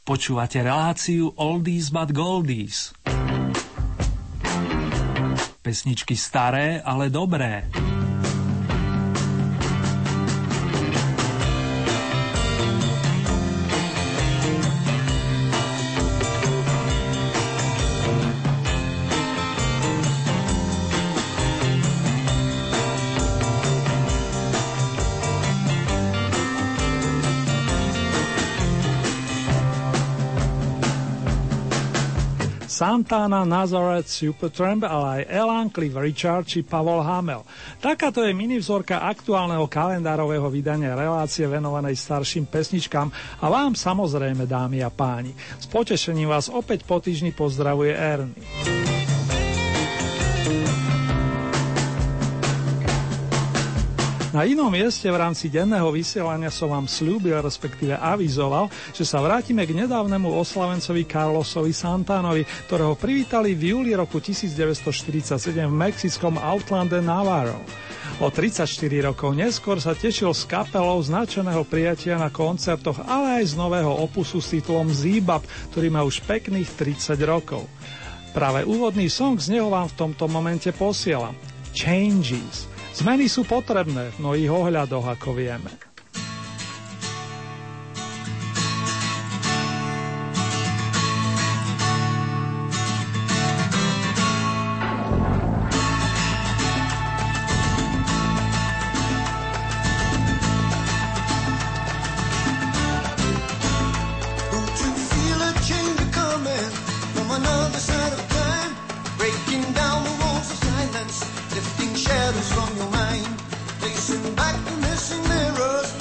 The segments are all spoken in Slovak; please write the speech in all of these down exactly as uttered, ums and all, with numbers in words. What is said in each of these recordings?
Počúvate reláciu Oldies but Goldies. Pesničky staré, ale dobré. Santana, Nazareth, Supertramp, ale aj Alan, Cliff Richard či Pavol Hamel. Takáto je minivzorka aktuálneho kalendárového vydania relácie venovanej starším pesničkám a vám samozrejme, dámy a páni. S potešením vás opäť po týždni pozdravuje Ernie. Na inom mieste v rámci denného vysielania som vám sľúbil, respektíve avizoval, že sa vrátime k nedávnemu oslavencovi Carlosovi Santanovi, ktorého privítali v júli roku devätnásťstoštyridsaťsedem v mexickom Outlande Navarro. O tridsaťštyri rokov neskôr sa tešil s kapelou značeného prijatia na koncertoch, ale aj z nového opusu s titulom Zebop, ktorý má už pekných tridsať rokov. Práve úvodný song z neho vám v tomto momente posielam. Changes. Zmeny sú potrebné v mnohých ohľadoch, ako vieme. From your mind, facing back the missing mirrors.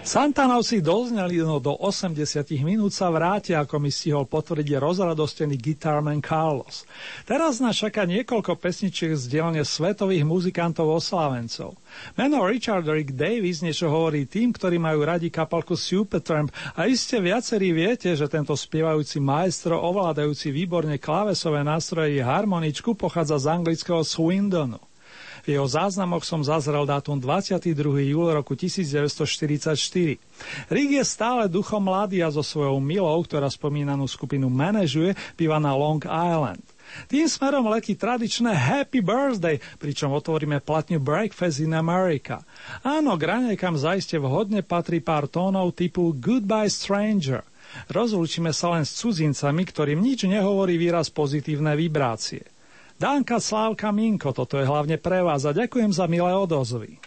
Santanovci dozneli, no do osemdesiat minút sa vrátia, ako mi stihol potvrdiť rozradostený guitarman Carlos. Teraz nás čaká niekoľko pesničiek z dielne svetových muzikantov oslávencov. Meno Richard Rick Davies niečo hovorí tým, ktorí majú radi kapalku Supertramp a iste viacerí viete, že tento spievajúci maestro, ovládajúci výborne klávesové nástroje i harmoničku, pochádza z anglického Swindonu. V jeho záznamoch som zazrel dátum dvadsiateho druhého júla roku devätnásťstoštyridsaťštyri. Rick je stále duchom mladý a so svojou milou, ktorá spomínanú skupinu manažuje, býva na Long Island. Tým smerom letí tradičné Happy Birthday, pričom otvoríme platňu Breakfast in America. Áno, k raňajkám zaiste vhodne patrí pár tónov typu Goodbye Stranger. Rozlúčime sa len s cudzincami, ktorým nič nehovorí výraz pozitívne vibrácie. Danka, Slávka, Minko, toto je hlavne pre vás a ďakujem za milé odozvy.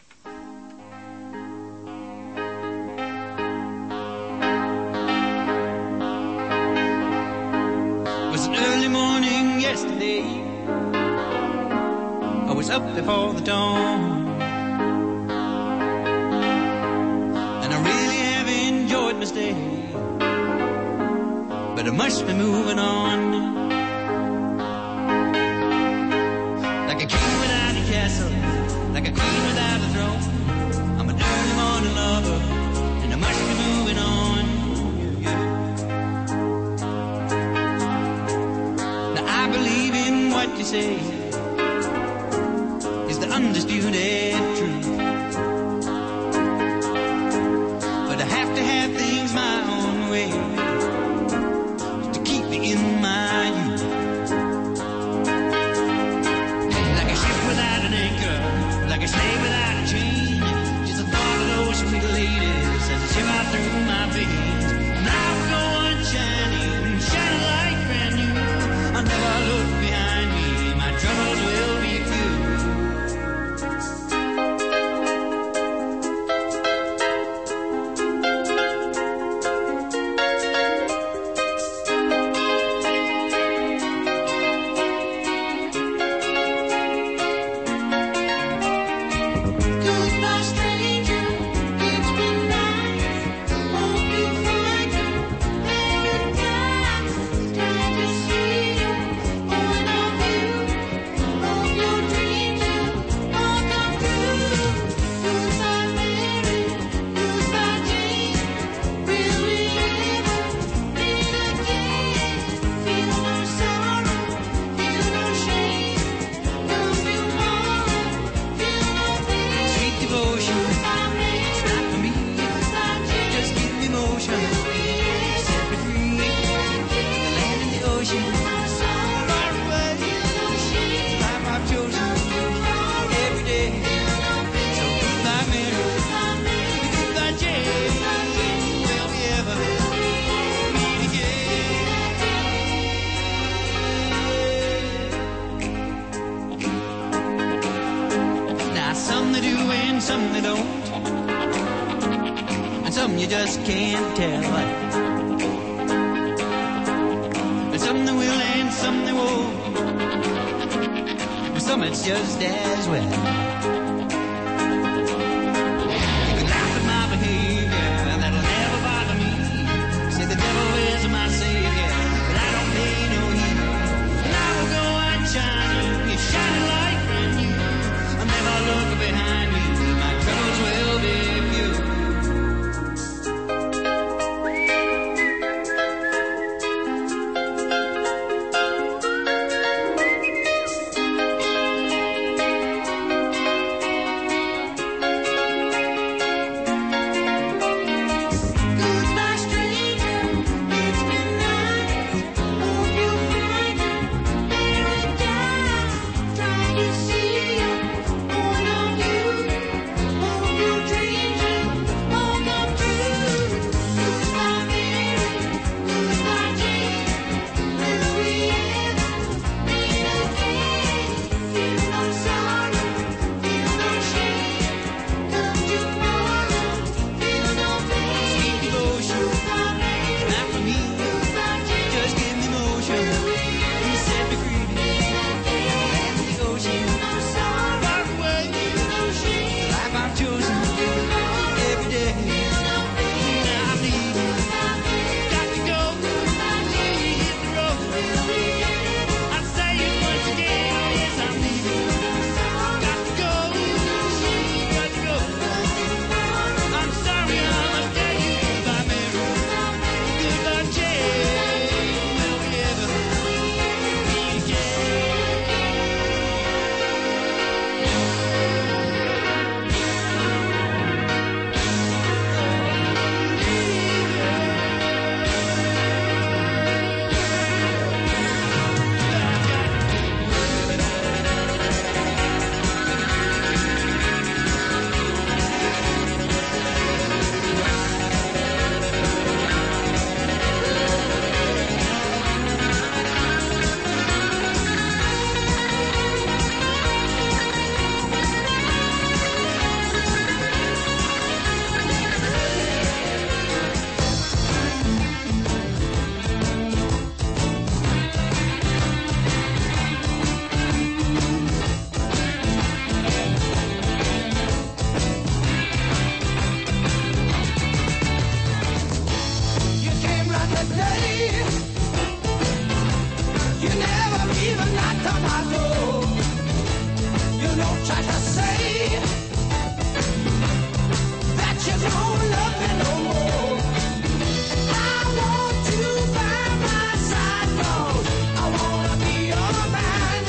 It was an early morning yesterday. I was up before the dawn, and I really have enjoyed my stay, but I must be moving on. Like a king without a castle, like a queen without a throne. I'm an early morning lover, and I must be moving on. Yeah. Now I believe in what you say is the undisputed truth, but I have to have things my own way to keep me in my youth. Like a slave without a chain, just a thought of those sweet ladies as they shiver through my veins. Now we go on shining, shining like brand new. I'll never look behind me, my troubles will be few. every day. You never even knocked on my door. You don't try to say that you don't love me no more. I want you by my side, 'cause I wanna be your man.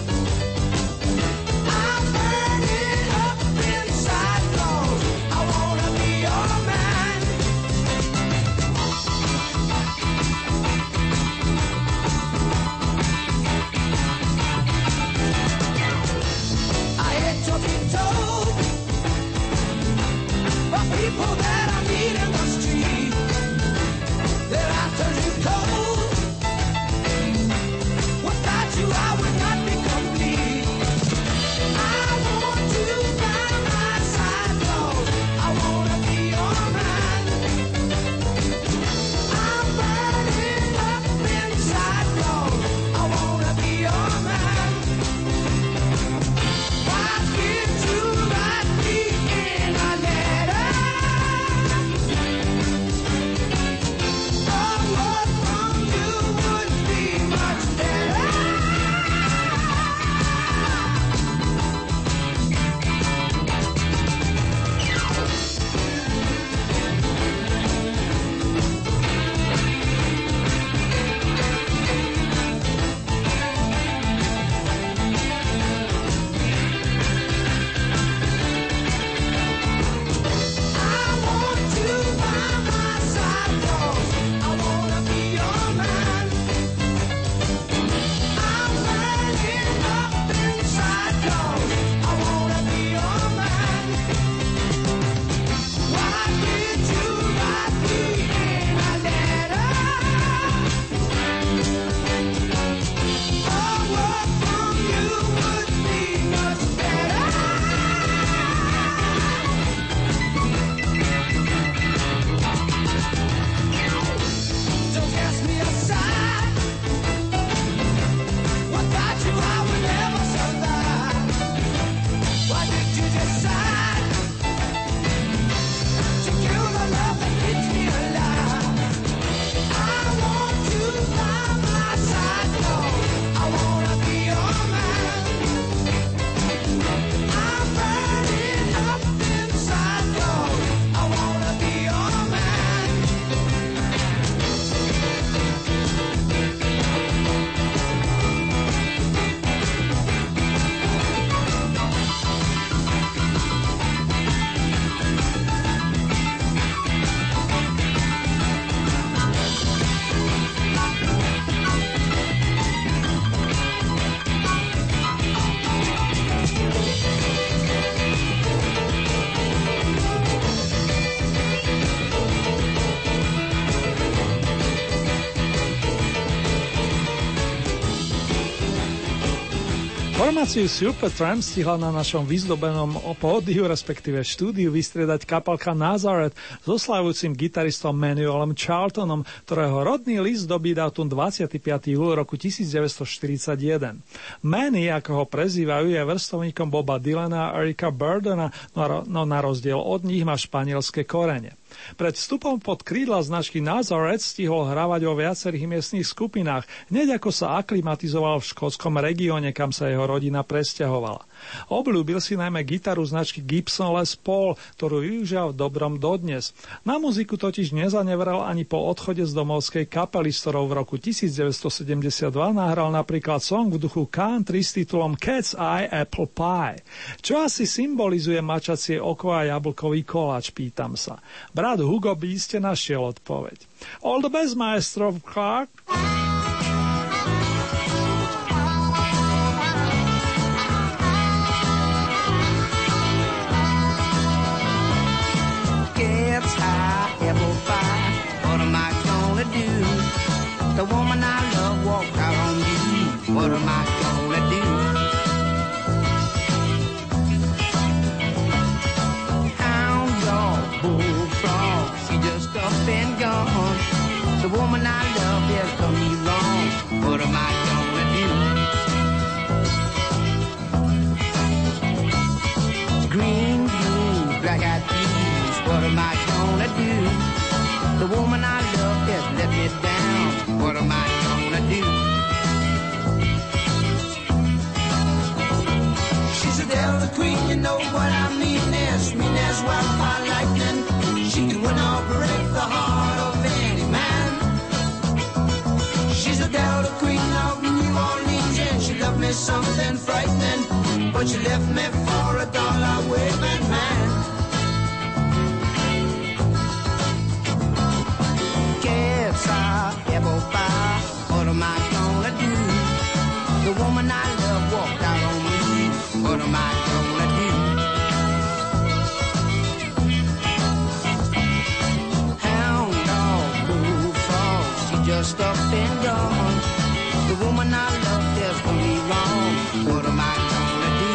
I'm burning up inside, 'cause I wanna be your man. I hate to be told by people that I meet in the street that I turn you cold. Without you I would not be complete. I want you by my side, 'cause I wanna be your man. I'm burning up inside, 'cause I wanna be your man. Why did you write me in a letter? A word from you would be much better. I want you by my side, 'cause I wanna be your man. I'm burning up inside, 'cause I wanna be your man. Why did you write me in a letter? A word from you would be much better. Don't cast me aside. Without you I would never survive. Why did you decide to kill the love that keeps me alive? I want you by my side, 'cause I wanna be your man. I'm burning up inside, 'cause I wanna be your man. Formáciu Supertramp stihla na našom vyzdobenom pódiu, respektíve štúdiu, vystriedať kapelka Nazareth s oslavujúcim gitaristom Manuelom Charltonom, ktorého rodný list dobí dátum dvadsiateho piateho júla roku devätnásťstoštyridsaťjeden. Manny, ako ho prezývajú, je vrstovníkom Boba Dylana a Erika Burdena, no na rozdiel od nich má španielské korene. Pred vstupom pod krídla značky Nazareth stihol hravať vo viacerých miestnych skupinách, hneď ako sa aklimatizoval v škótskom regióne, kam sa jeho rodina presťahovala. Obľúbil si najmä gitaru značky Gibson Les Paul, ktorú využíval v dobrom dodnes. Na muziku totiž nezanevral ani po odchode z domovskej kapely, s ktorou v roku devätnásťstosedemdesiatdva nahral napríklad song v duchu country s titulom Cat's Eye Apple Pie. Čo asi symbolizuje mačacie oko a jablkový koláč, pýtam sa. Brat Hugo by iste našiel odpoveď. All the best, maestro Clark. Cat's eye, apple pie, what am I gonna do? The woman I love walked out on you, what am I gonna do? Hound dog, bullfrog, she just up and gone. The woman I love has done me wrong, what am I gonna do? Green beans, black-eyed peas, what am I gonna do? The woman I love has let me down. me something frightening, but you left me for a dollar waving man. Guess I ever found, what am I gonna do? The woman I love walked out on me, what am I gonna do? Hound dog, bullfrog, she just up and gone. The woman I love just gonna be wrong, what am I gonna do?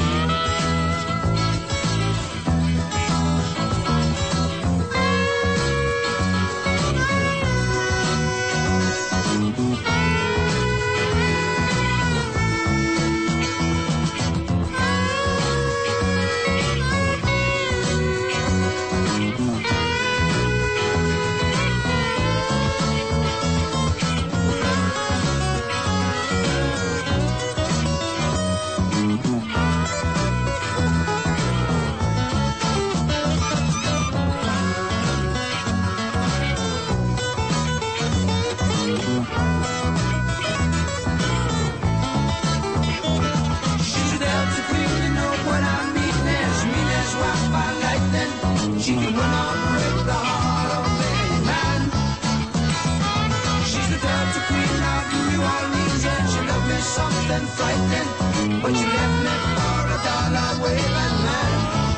She can run on, break the heart of any man. She's the Delta Queen of New Orleans, and she loved me something frightening, but she left me for a dollar waving man.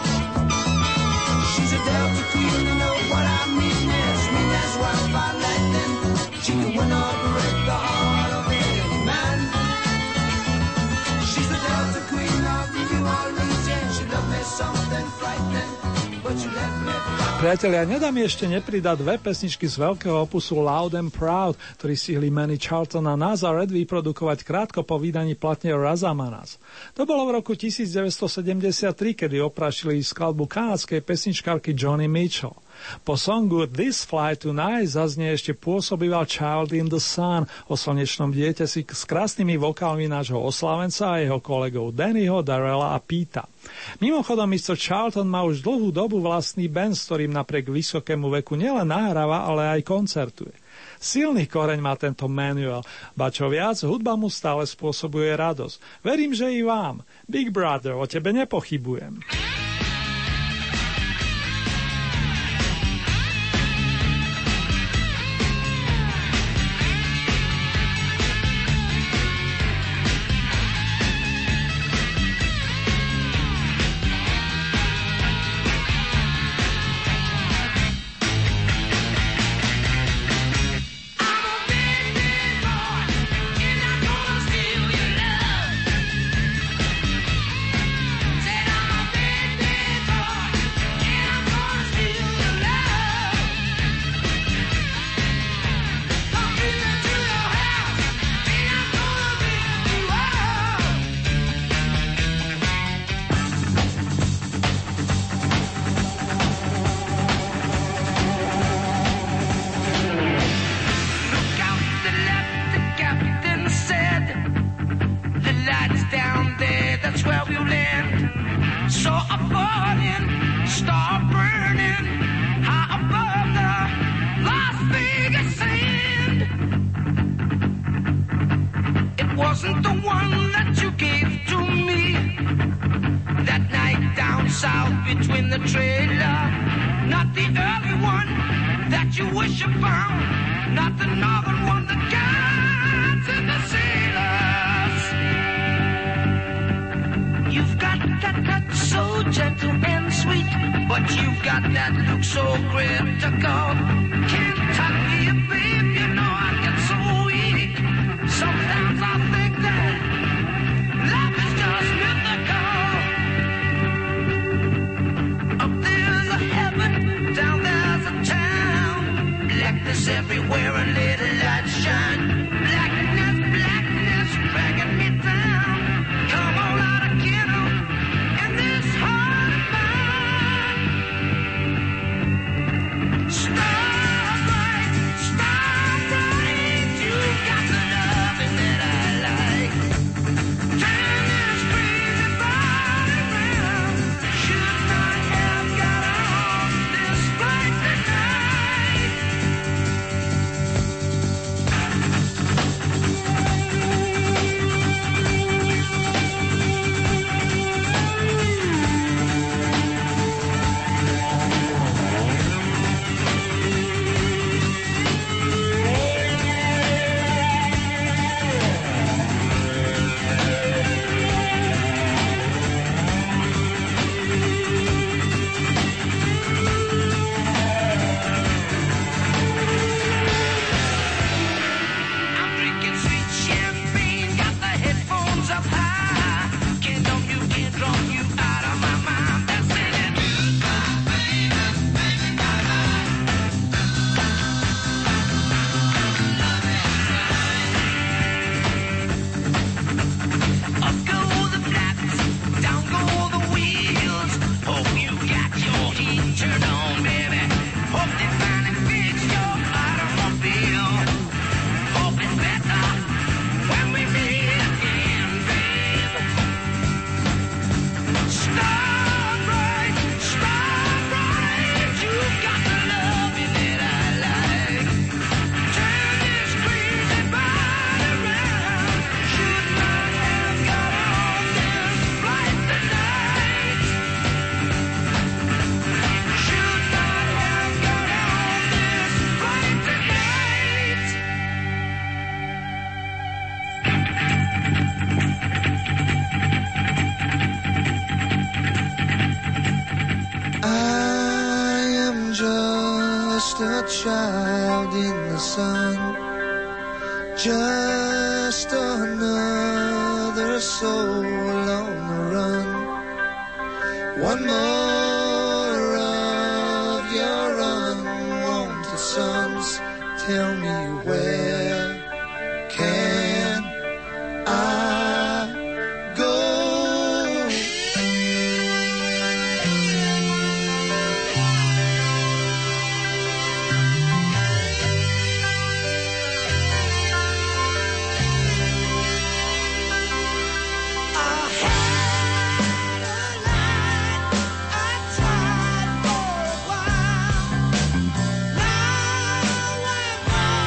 She's a Delta Queen, you know what I mean is mean as wild by lightning. She can run on, break the heart of any man. She's the Delta Queen of New Orleans, and she loved me something frightening. Priatelia, nedá mi ešte nepridať dve pesničky z veľkého opusu Loud and Proud, ktorý stihli Manny Charlton a Nazareth vyprodukovať krátko po vydaní platne Razamanas. To bolo v roku devätnásťsedemdesiattri, kedy oprášili skladbu kanadskej pesničkárky Joni Mitchell. Po songu This Fly Tonight zaznie ešte pôsobivá Child in the Sun o slnečnom dieťati s krásnymi vokálmi nášho oslavenca a jeho kolegov Dannyho, Darrella a Peta. Mimochodom, mister Charlton má už dlhú dobu vlastný band, s ktorým napriek vysokému veku nielen nahráva, ale aj koncertuje. Silný koreň má tento Manuel, ba čo viac, hudba mu stále spôsobuje radosť. Verím, že i vám. Big Brother, o tebe nepochybujem. Stop! child in the sun, just another soul on the run. One more of your unwanted sons. Tell me where can I go? Now I'm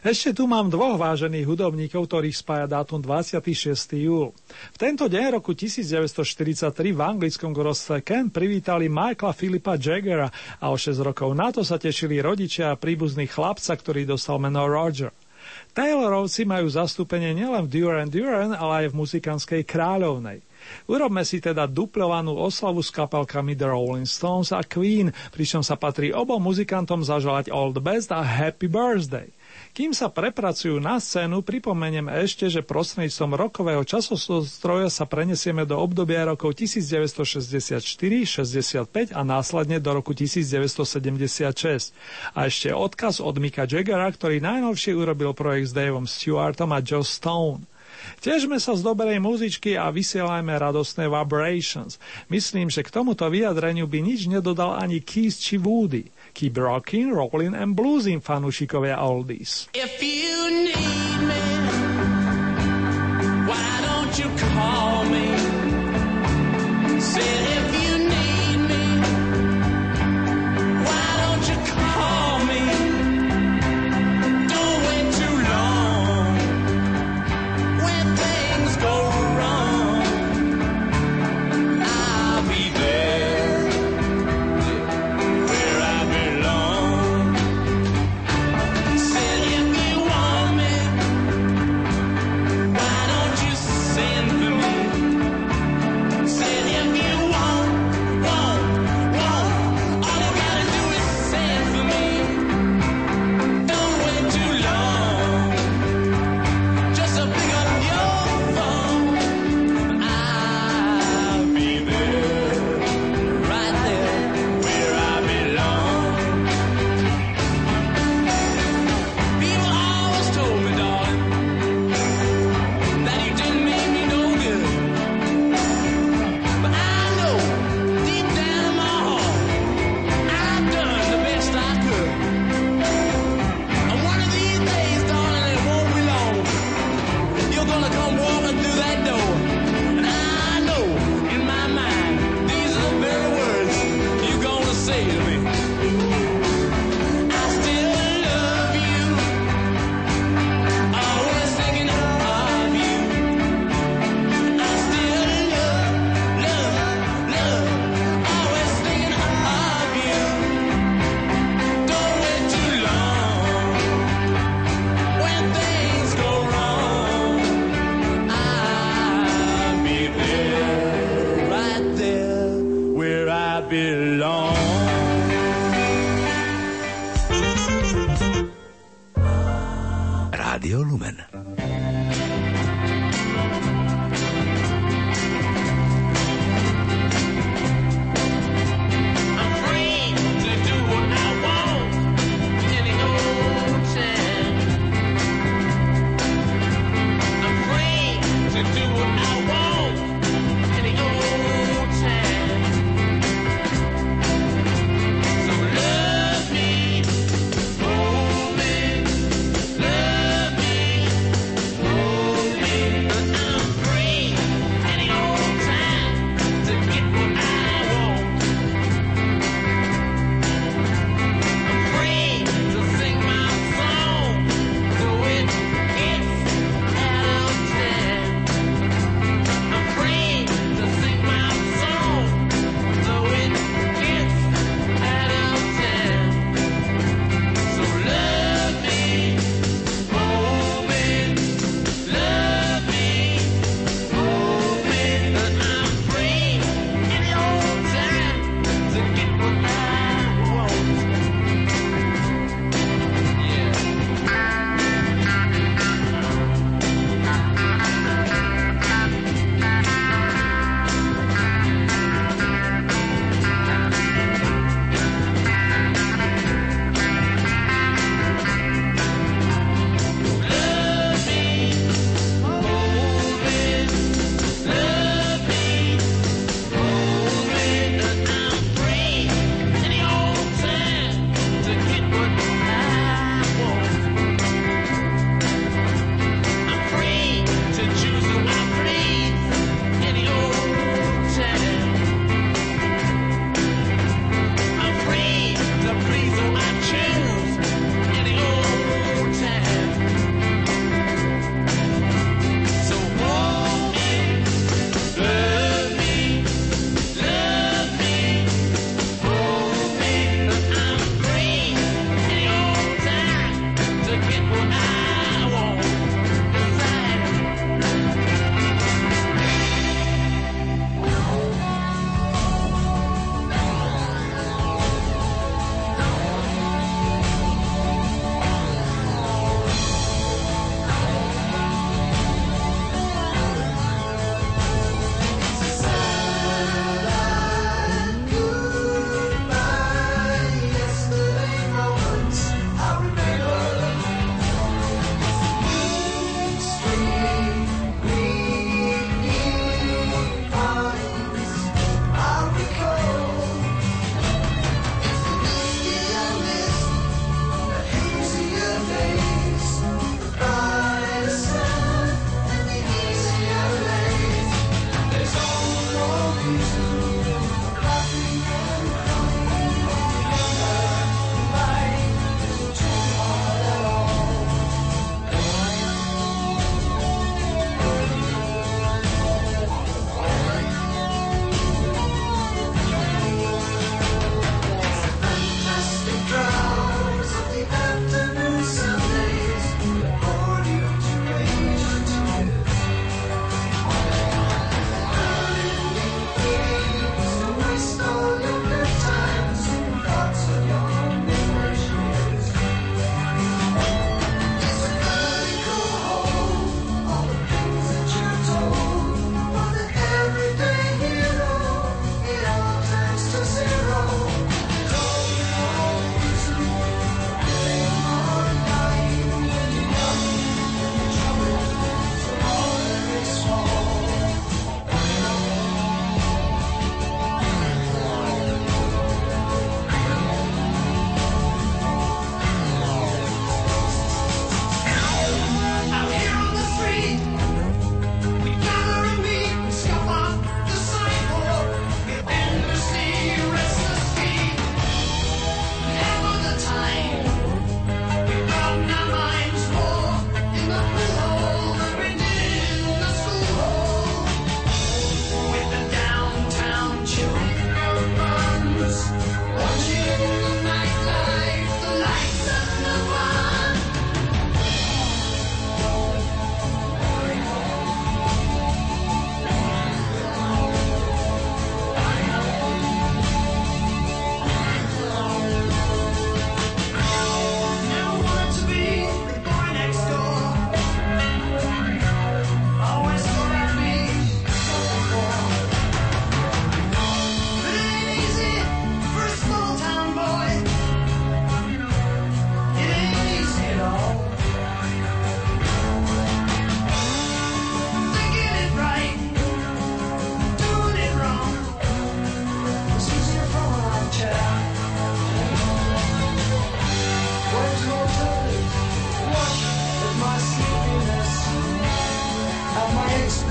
Ešte tu mám dvoch vážených hudobníkov, ktorých spája dátum dvadsiateho šiesteho júla. V tento deň roku devätnásťstoštyridsaťtri v anglickom gorostve Kent privítali Michaela Philipa Jaggera a o šesť rokov na to sa tešili rodičia a príbuzní chlapca, ktorý dostal meno Roger. Taylorovci majú zastúpenie nielen v Duran Duran, ale aj v muzikantskej kráľovnej. Urobme si teda duplovanú oslavu s kapelkami The Rolling Stones a Queen, pričom sa patrí obom muzikantom zaželať all the best a happy birthday. Kým sa prepracujú na scénu, pripomeniem ešte, že prostredníctvom rokového časostroja sa prenesieme do obdobia rokov devätnásťstošesťdesiatštyri šesťdesiatpäť a následne do roku devätnásťstosedemdesiatšesť. A ešte odkaz od Micka Jaggera, ktorý najnovšie urobil projekt s Davom Stewartom a Joe Stone. Težme sa z dobrej muzičky a vysielajme radostné vibrations. Myslím, že k tomuto vyjadreniu by nič nedodal ani Keith či Woody. Keep rocking, rolling and bluesing, fanúšikovia oldies. If you need me, why don't you call me? Say if you need me, why don't you call me? Don't wait too long. When things go wrong, I'll be there. Rádio Lumen. Love me,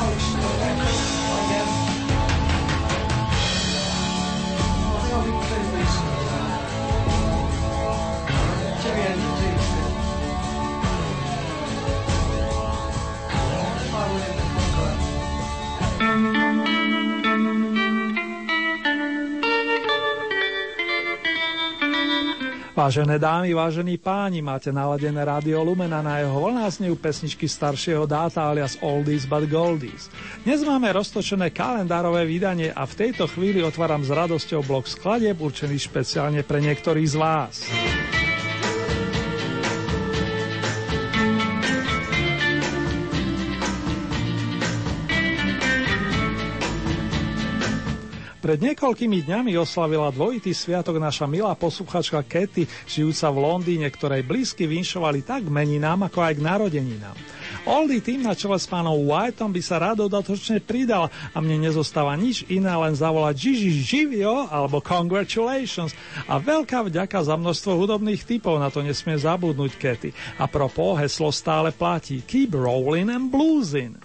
Vážené dámy, vážení páni, máte naladené Rádio Lumen a na jeho vlnách znejú pesničky staršieho dáta alias Oldies but Goldies. Dnes máme roztočené kalendárové vydanie a v tejto chvíli otváram s radosťou blok skladieb určený špeciálne pre niektorých z vás. Pred niekoľkými dňami oslavila dvojitý sviatok naša milá posluchačka Katy, žijúca v Londýne, ktorej blízky vinšovali tak k meninám, ako aj k narodeninám. Oldie tým na čele s pánom Whiteom by sa rád dodatočne pridal a mne nezostáva nič iné, len zavolať Gigi živio alebo Congratulations a veľká vďaka za množstvo hudobných tipov, na to nesmie zabudnúť Katy. A propos, heslo stále platí: Keep rolling and bluesin'.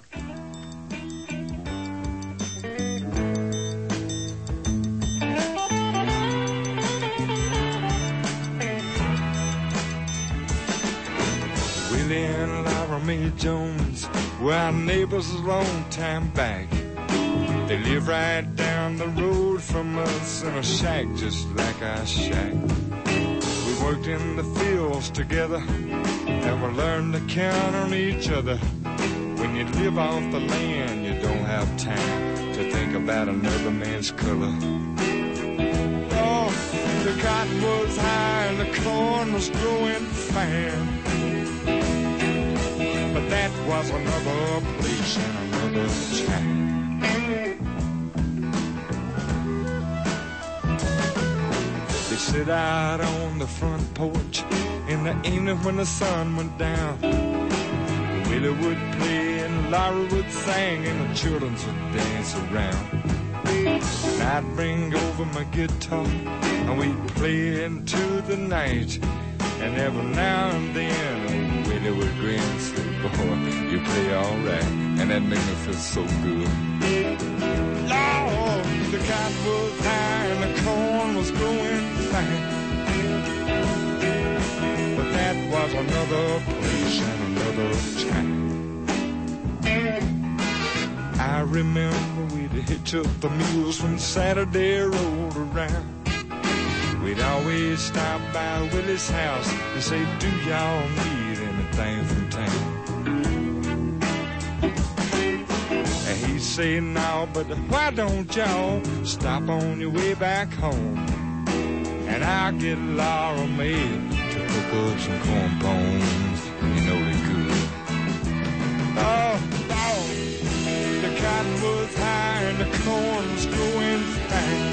Mae Jones were our neighbors a long time back. They live right down the road from us in a shack just like our shack. We worked in the fields together and we learned to count on each other. When you live off the land, you don't have time to think about another man's color. Oh, the cotton was high and the corn was growing fine. But that was another place and another time. They sit out on the front porch in the evening when the sun went down. Willie would play and Laura would sing and the children would dance around. And I'd bring over my guitar and we'd play into the night. And every now and then oh, Willie would grin and say, boy, you play all right. And that made me feel so good. Lord, the cotton was high and the corn was growing fine. But that was another place and another time. I remember we'd hitch up the mules when Saturday rolled around. We'd always stop by Willie's house and say, do y'all need anything from town? And he'd say, no, but why don't y'all stop on your way back home? And I'll get Laura Mae to cook up some corn bones. You know they could. Oh, oh, the cotton was high and the corn was growing fine.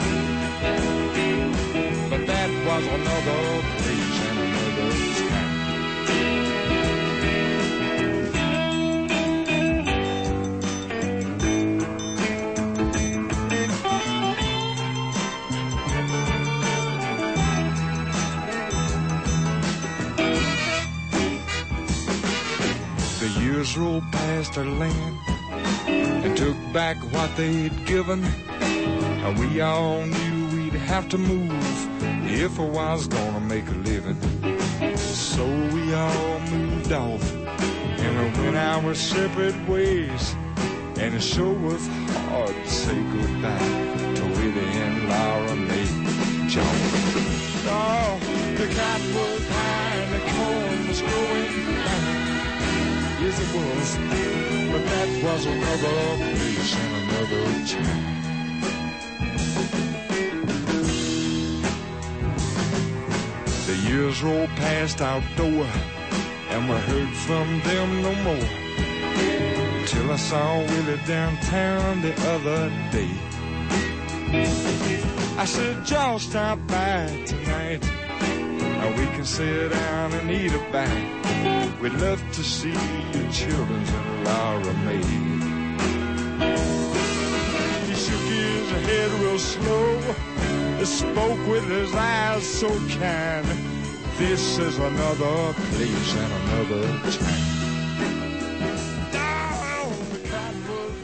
But that was another place and another time. The years rolled past our land and took back what they'd given, and we all knew we'd have to move if I was gonna make a living. So we all moved off and we went our separate ways, and it sure was hard to say goodbye to Willie and Laura Mae Jones. Oh, the cotton was high and the corn was growing fine. Yes, it was, but that was another place and another time. The years rolled past our door, and we heard from them no more, till I saw Willie downtown the other day. I said, y'all stop by tonight, and we can sit down and eat a bite. We'd love to see your children and Laura Mae. He shook his head real slow, spoke with his eyes so kind. This is another place and another time. Oh, the cotton was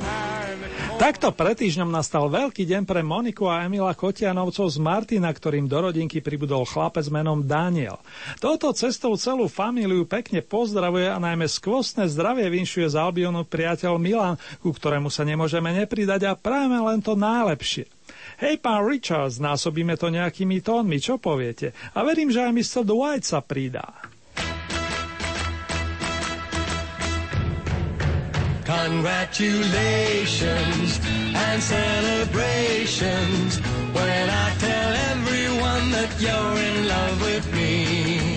Takto pred týždňom nastal veľký deň pre Moniku a Emila Kotianovcov z Martina, ktorým do rodinky pribudol chlapec menom Daniel. Touto cestou celú famíliu pekne pozdravuje a najmä skvostné zdravie vinšuje z Albionu priateľ Milan, ku ktorému sa nemôžeme nepridať a prajeme len to najlepšie. Hej, pán Richards, násobíme to nejakými tónmi, čo poviete? A verím, že aj mister Dwight sa pridá. Congratulations and celebrations when I tell everyone that you're in love with me.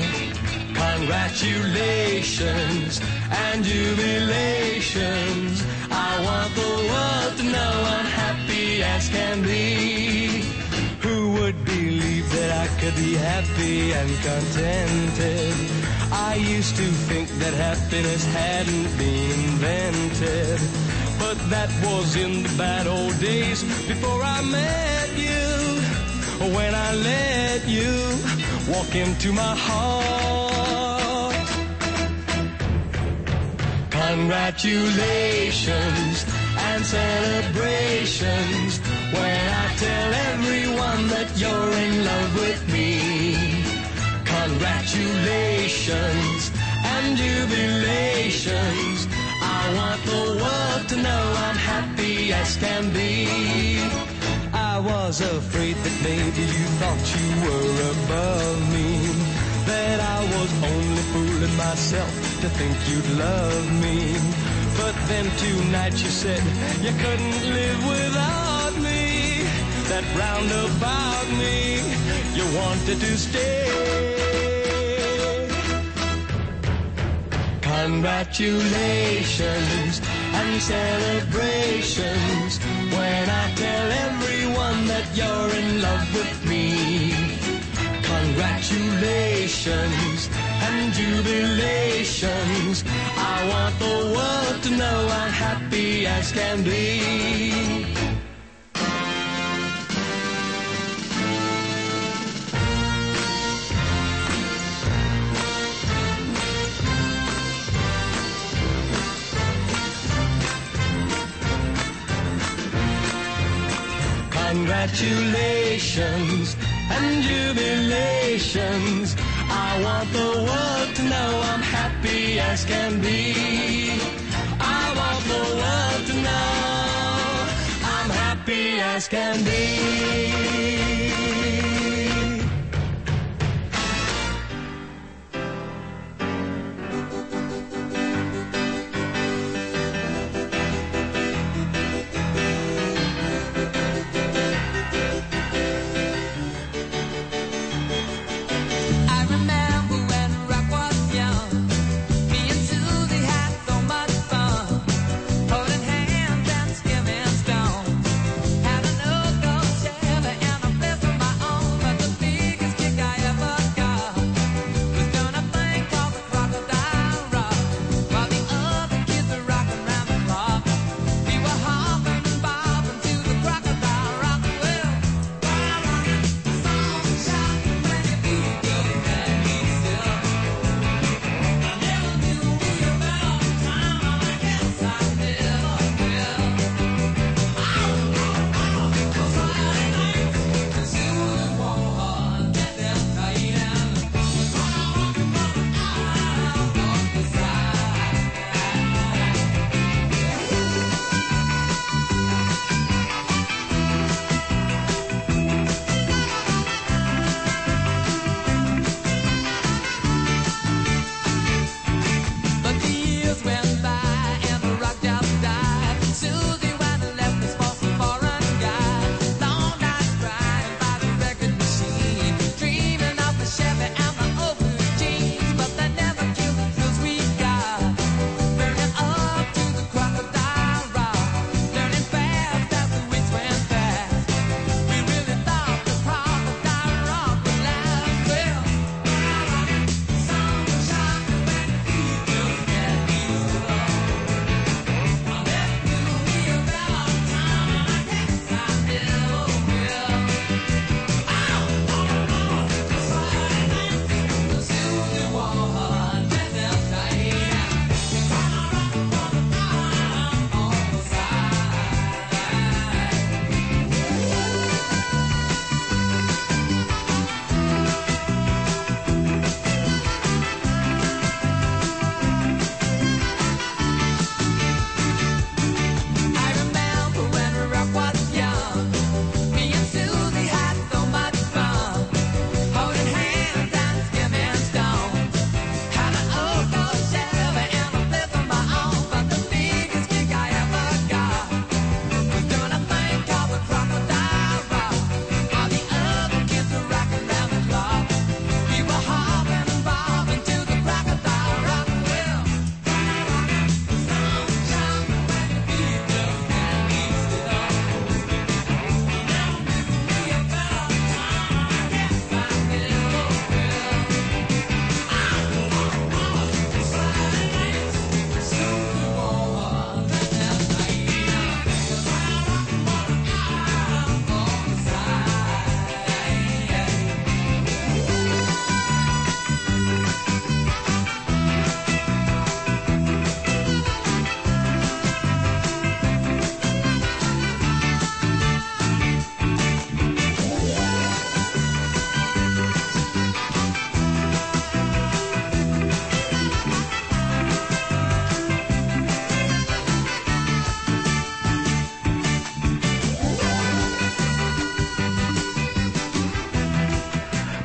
Congratulations and jubilations. I want the world to know I'm happy as can be. Who would believe that I could be happy and contented? I used to think that happiness hadn't been invented, but that was in the bad old days before I met you. When I let you walk into my heart. Congratulations and celebrations when I tell everyone that you're in love with me. Congratulations and jubilations. I want the world to know I'm happy as can be. I was afraid that maybe you thought you were above me, that I was only fooling myself to think you'd love me. But then tonight you said you couldn't live without me, that round about me you wanted to stay. Congratulations and celebrations when I tell everyone that you're in love with me. Congratulations and jubilations. I want the world to know I'm happy as can be. Congratulations and jubilations. I want the world to know I'm happy as can be. I want the world to know I'm happy as can be. Holding hands and skimming stone, had a no-go Chevy and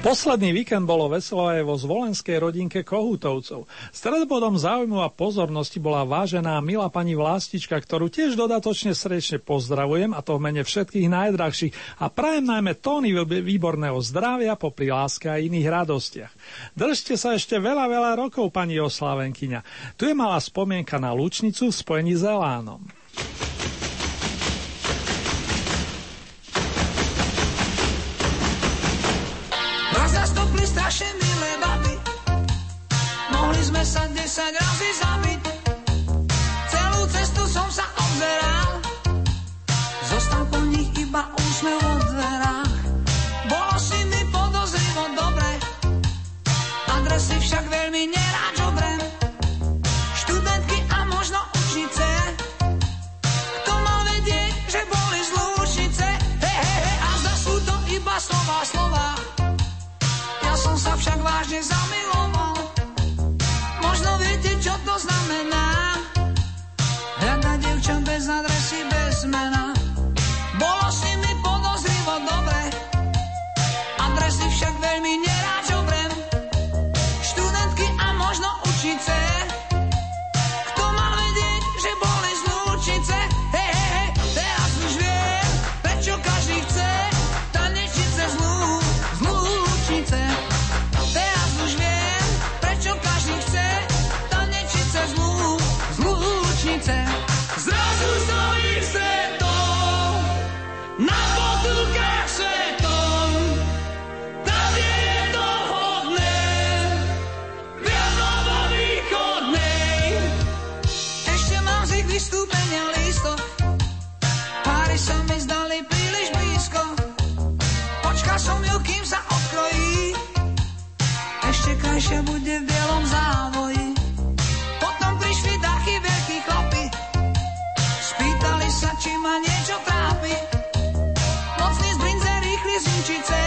Posledný víkend bolo veselo aj vo zvolenskej rodinke Kohútovcov. Stredobodom záujmu a pozornosti bola vážená milá pani Vlastička, ktorú tiež dodatočne srdečne pozdravujem, a to v mene všetkých najdrahších, a prajem najmä tóny výborného zdravia popri láske a iných radostiach. Držte sa ešte veľa, veľa rokov, pani oslavenkyňa. Tu je malá spomienka na Lučnicu v spojení s Elánom. Strašne milé baby, mohli sme sa desať razy zabiť. Celú cestu som sa obzeral, zostal po nich iba úsmev od dverách. Bolo si mi podozrivo dobre, adresy však veľmi nerád žobrem. Študentky a možno učnice, kto mal vedieť, že boli z Lučnice. He, he, he, a zda sú to iba slova, slova. Ja som sa však vážne zamiloval. Možno viete, čo to znamená, hľadať dievča bez adresy, bez mena. Bolo s nimi podozrivo dobre, adresy však veľmi nerád žobrem. Študentky a možno učnice, kto mal vedieť, že boli z Lučnice. Hej, hej, hej, teraz už viem, prečo každý chce tanečiť cez Lú, z Lučnice. Teraz už viem, prečo každý chce tanečiť cez Lú, z Lučnice. Zrazu stojí svetom na potulkách svetom, tam je to vhodné, viadlo vo východnej. Ešte mám z ich vystúpenia lístok, páry sa mi zdali príliš blízko. Počkal som ju, kým sa odkrojí, ešte krajšia bude v bielom závoji. Potom prišli dachy veľkí chlapi, spýtali sa, či ma niečo trápi. Mocný z brinze, rýchli z Inčice,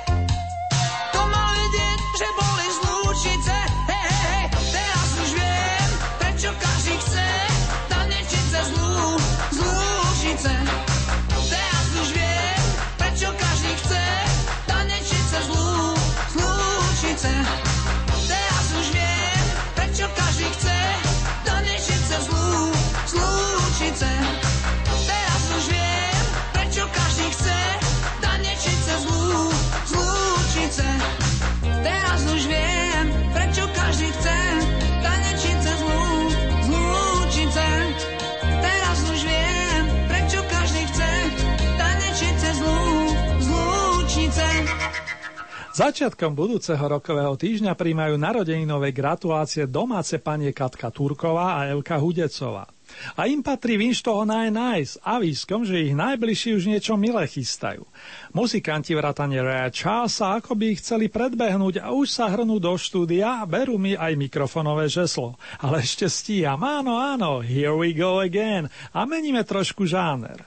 to mal vedieť, že boli z Lučnice. Hej, hej, hej, teraz už viem, prečo každý chce tanečiť cez Lú, z Lučnice. Teraz už viem, prečo každý chce tanečiť cez Lú, z Lučnice. Teraz už viem, prečo každý chce tanečiť cez Lú, z Lučnice. Teraz už viem, prečo každý chce tanečiť cez Lú, z Lučnice. Teraz už viem, prečo každý chce tanečiť cez Lú, z Lučnice. Teraz už viem, prečo každý chce tanečiť cez Lú, z Lučnice. Začiatkom budúceho rokového týždňa príjmajú narodeninové gratulácie domáce panie Katka Turková a Evka Hudecová. A im patrí vinš toho naj-naj s avískom, že ich najbližší už niečo milé chystajú. Muzikanti vrátane Raya Charlesa ako by ich chceli predbehnúť a už sa hrnú do štúdia a berú mi aj mikrofonové žeslo. Ale ešte stíham, áno, áno, here we go again. A meníme trošku žáner.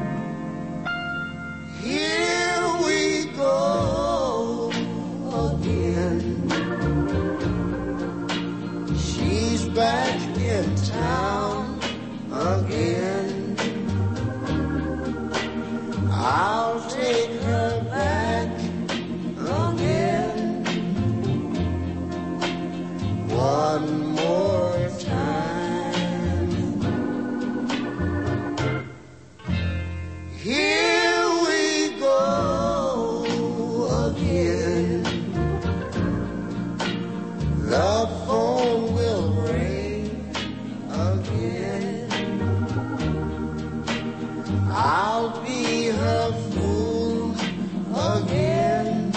Here we go again. She's back in town again. I'll take her back again. One more time. Here we go again. The phone will ring again. I'll be her fool again.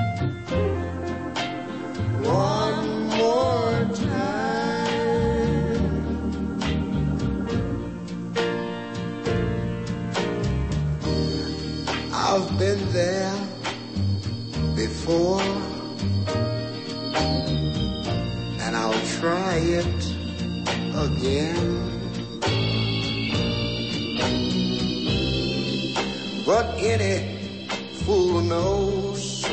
One more time. I've been there before, and I'll try it again. But any fool knows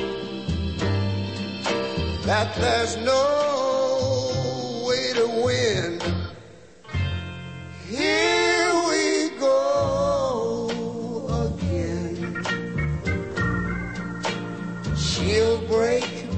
that there's no way to win. Here we go again. She'll break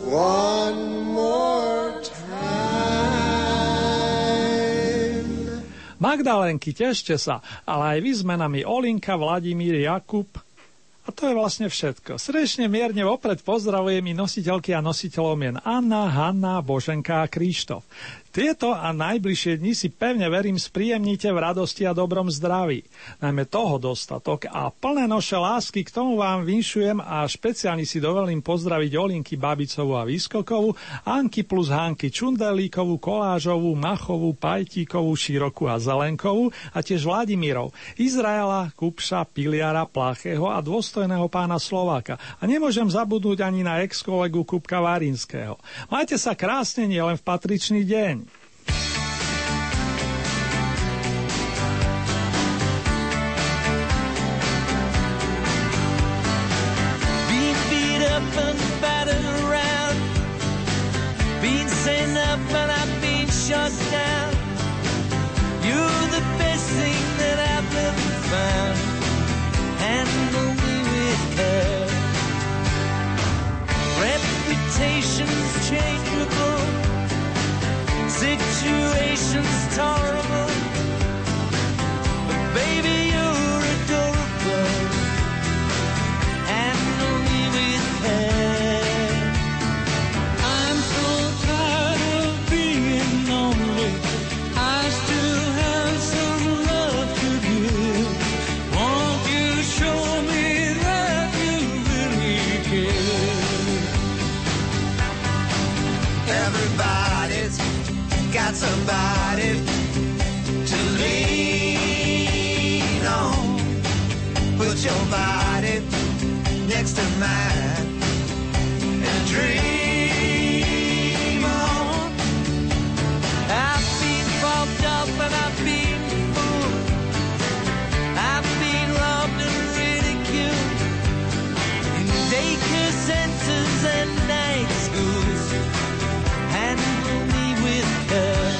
one more time. Magdalénky, tešte sa, ale aj vy s menami Olinka, Vladimír, Jakub. A to je vlastne všetko. Srdečne mierne vopred pozdravujem i nositeľky a nositeľov mien Anna, Hanna, Boženka a Krištof. Tieto a najbližšie dni si pevne verím spríjemnite v radosti a dobrom zdraví. Najmä toho dostatok a plné noše lásky k tomu vám vinšujem a špeciálne si dovolím pozdraviť Olinky Babicovú a Výskokovú, Anky plus Hanky Čundelíkovú, Kolážovú, Machovú, Pajtíkovú, Širokú a Zelenkovú a tiež Vladimírov, Izraela, Kupša, Piliara, Plachého a dôstojného pána Slováka. A nemôžem zabudnúť ani na ex-kolegu Kupka Varinského. Majte sa krásne nielen v patričný deň. And I've been shut down. You're the best thing that I've ever found. Handle me with care. Reputation's changeable, situation's tolerable, but baby you're adorable. Handle me with care. Got somebody to lean on. Put your body next to mine and dream on. I've been bumped up and I've been fooled. I've been robbed and ridiculed in daycare centers and night schools. Handle me with care.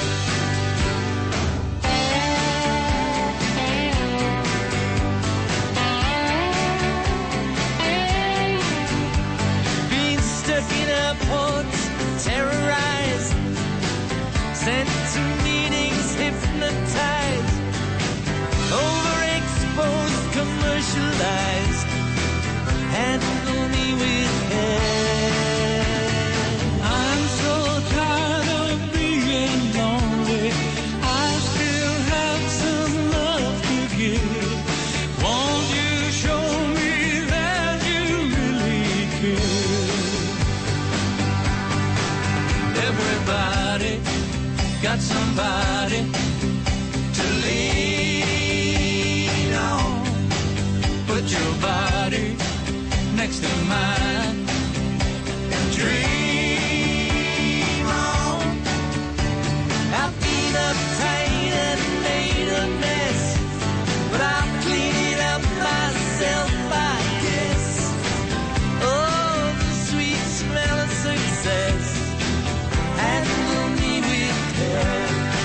Been stuck in airports, terrorized, sent to meetings, hypnotized, overexposed, commercialized. Handle me with care. I'm so tired of being lonely. I still have some love to give. Won't you show me that you really care? Everybody got somebody to lean on. Put your body next to mine and dream on. I've been uptight and made a mess, but I'll clean it up myself, I guess. Oh, the sweet smell of success. Handle me with care.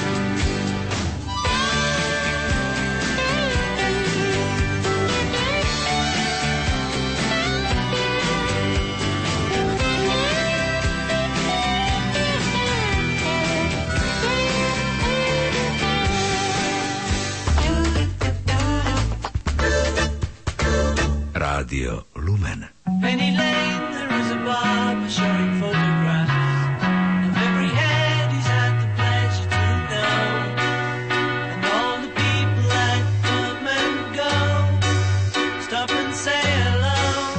Rádio Lumen. Penny Lane, there is a barber showing photographs of every head he's had the pleasure to know, and all the people that come and go stop and say hello.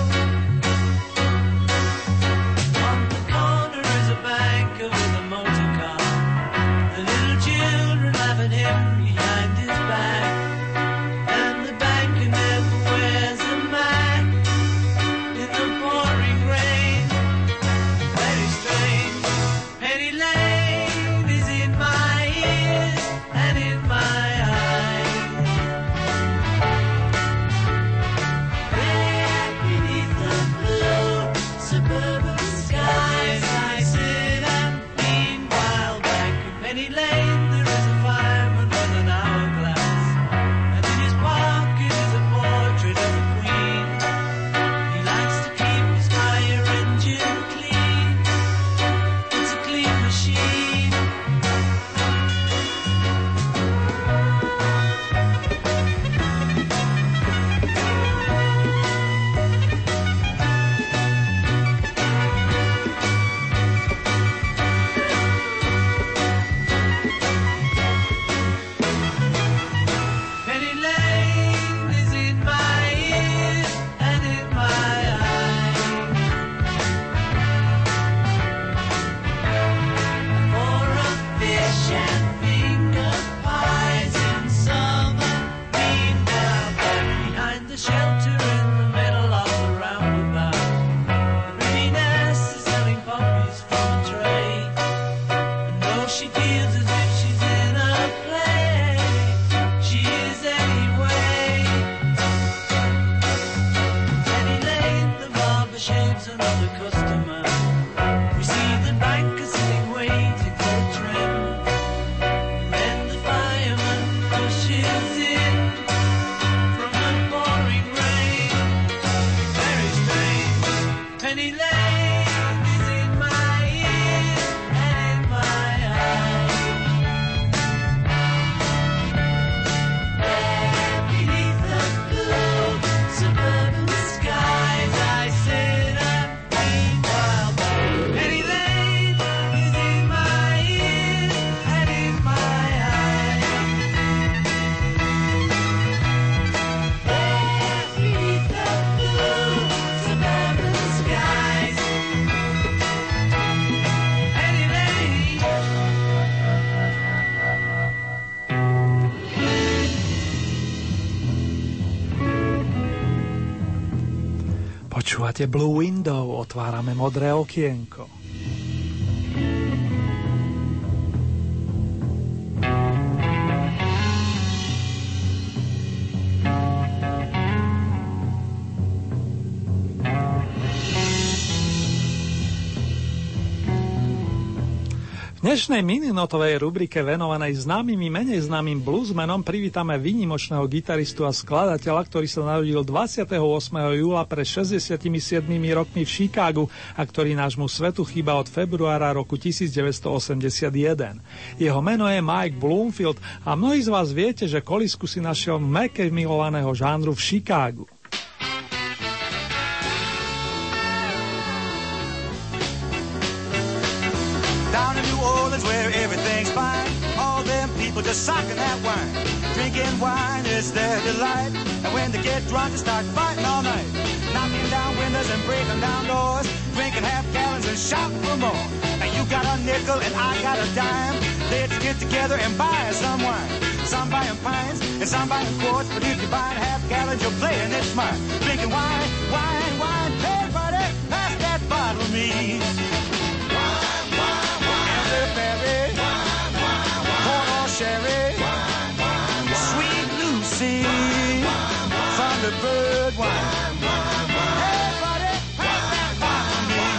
On the corner is a banker with a motor car. The little children laugh at him behind his back, and the banker never wears a mask in the morning. comes another customer. We see the banker sitting waiting for a tram. And then the fireman pushes in from the pouring rain. Very strange. Penny Lane is in my ears and in my eyes. There beneath the blue suburban skies, I sit and think while Penny Lane is in my ears and in my eyes. There beneath the blue suburban skies, Penny Lane. Počúvate Blue Window, otvárame modré okienko. V dnešnej mininotovej rubrike venovanej známym i menej známym bluesmenom privítame výnimočného gitaristu a skladateľa, ktorý sa narodil dvadsiateho ôsmeho júla pred šesťdesiatimi siedmimi rokmi v Chicagu a ktorý nášmu svetu chýba od februára roku devätnásťstoosemdesiatjeden. Jeho meno je Mike Bloomfield a mnohí z vás viete, že kolísku si našiel v Meke milovaného žánru v Chicagu. Down in New Orleans where everything's fine, all them people just socking that wine. Drinking wine is their delight, and when they get drunk they start fighting all night. Knocking down windows and breaking down doors, drinking half gallons and shouting for more. And you got a nickel and I got a dime, let's get together and buy some wine. Some buying pints and some buying quarts, but if you're buying half gallons you're playing it smart. Drinking wine, wine, wine, hey buddy, pass that bottle to me. Berry, corn or sherry, sweet Lucy, Thunderbird wine. Hey, buddy, pass that bottle to me.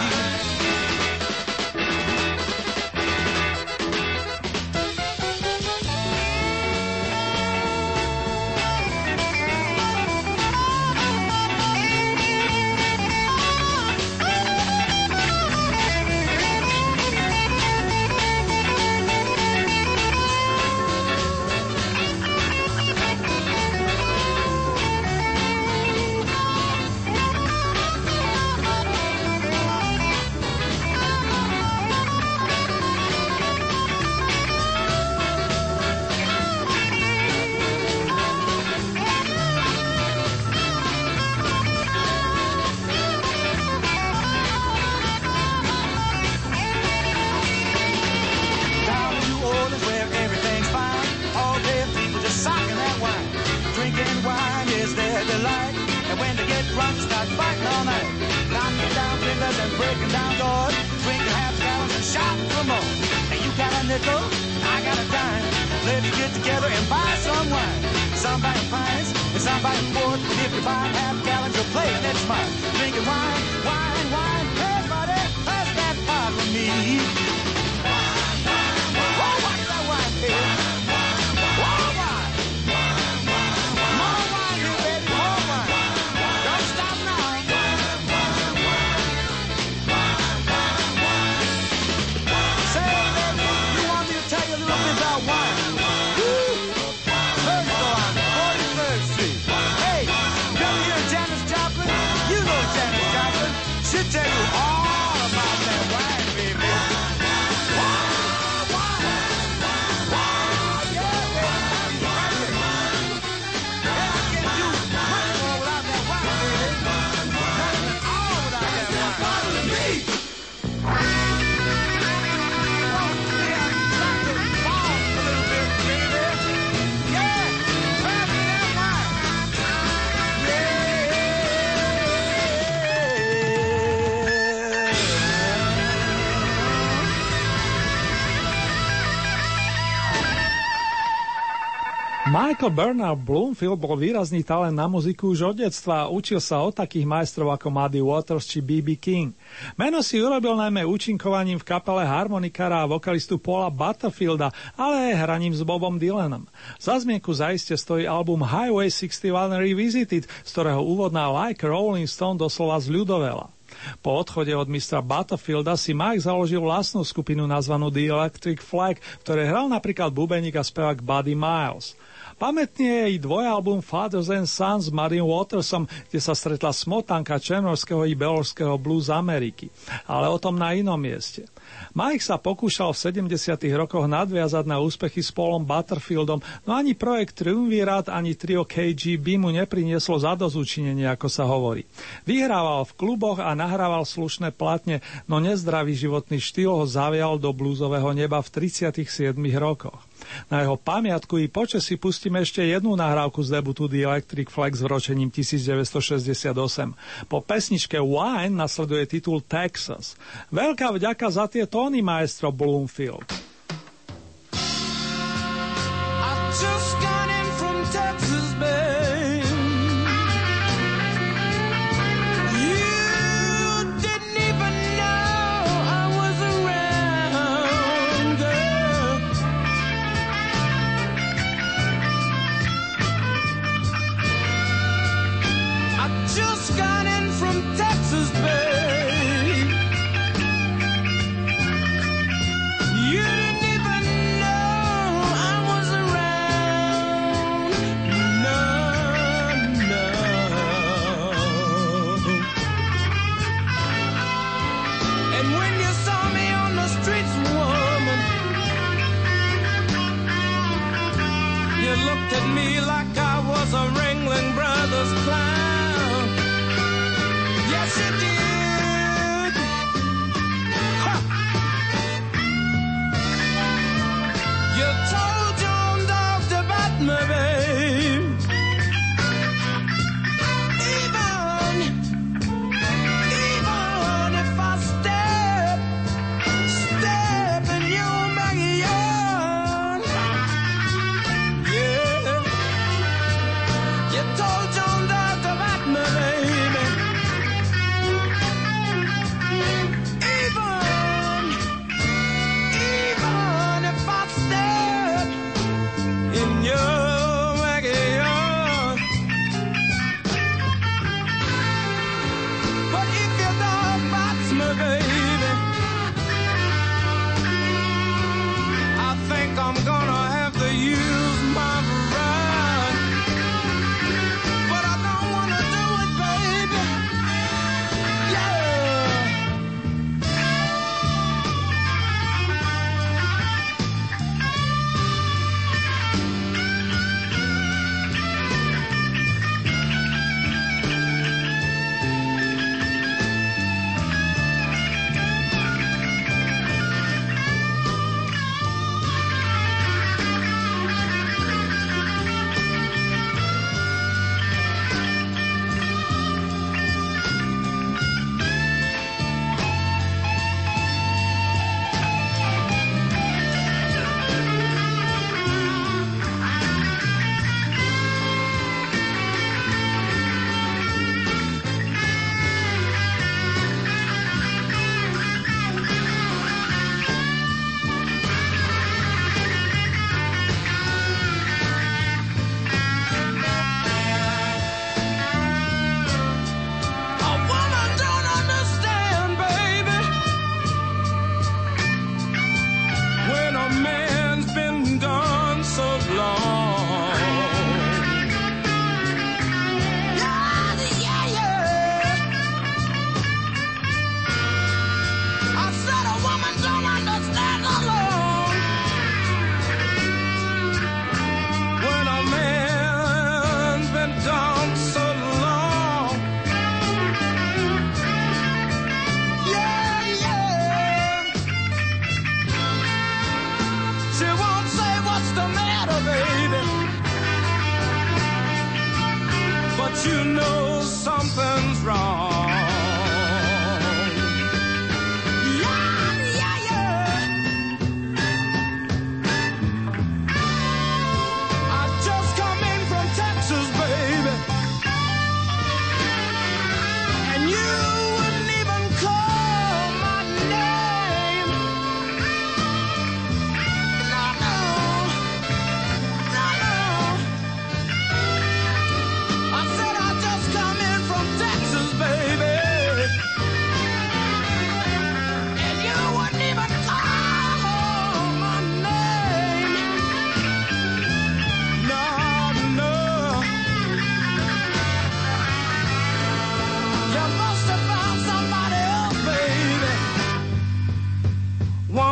Michael Bernard Bloomfield bol výrazný talent na muziku už od detstva a učil sa od takých majstrov ako Muddy Waters či bé bé King. Meno si urobil najmä účinkovaním v kapele harmonikára a vokalistu Paula Butterfielda, ale aj hraním s Bobom Dylanom. Za zmienku zaiste stojí album Highway šesťdesiatjeden Revisited, z ktorého úvodná Like Rolling Stone doslova zľudovela. Po odchode od mistra Butterfielda si Mike založil vlastnú skupinu nazvanú The Electric Flag, v ktorej hral napríklad bubeník a spevák Buddy Miles. Pamätný je i dvojalbum Fathers and Sons s Muddym Watersom, kde sa stretla smotanka černorského i beložského blues Ameriky. Ale o tom na inom mieste. Mike sa pokúšal v sedemdesiatych rokoch nadviazať na úspechy s Paulom Butterfieldom, no ani projekt Triumvirát, ani trio ká gé bé mu neprinieslo zadosťučinenie, ako sa hovorí. Vyhrával v kluboch a nahrával slušné platne, no nezdravý životný štýl ho zavial do bluesového neba v tridsiatych siedmich rokoch. Na jeho pamiatku i počas si pustíme ešte jednu nahrávku z debutu The Electric Flag s vročením devätnásťstošesťdesiatosem. Po pesničke Wine nasleduje titul Texas. Veľká vďaka za tie tóny, maestro Bloomfield. Even, even if I stayed